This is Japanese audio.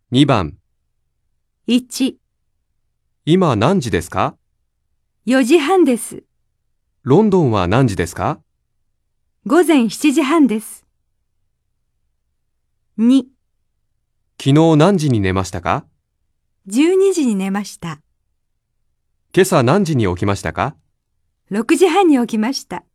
2番、 1、 今何時ですか？ 4時半です。 ロンドンは何時ですか？ 午前7時半です。2、 昨日何時に寝ましたか？ 12時に寝ました。 今朝何時に起きましたか？ 6時半に起きました。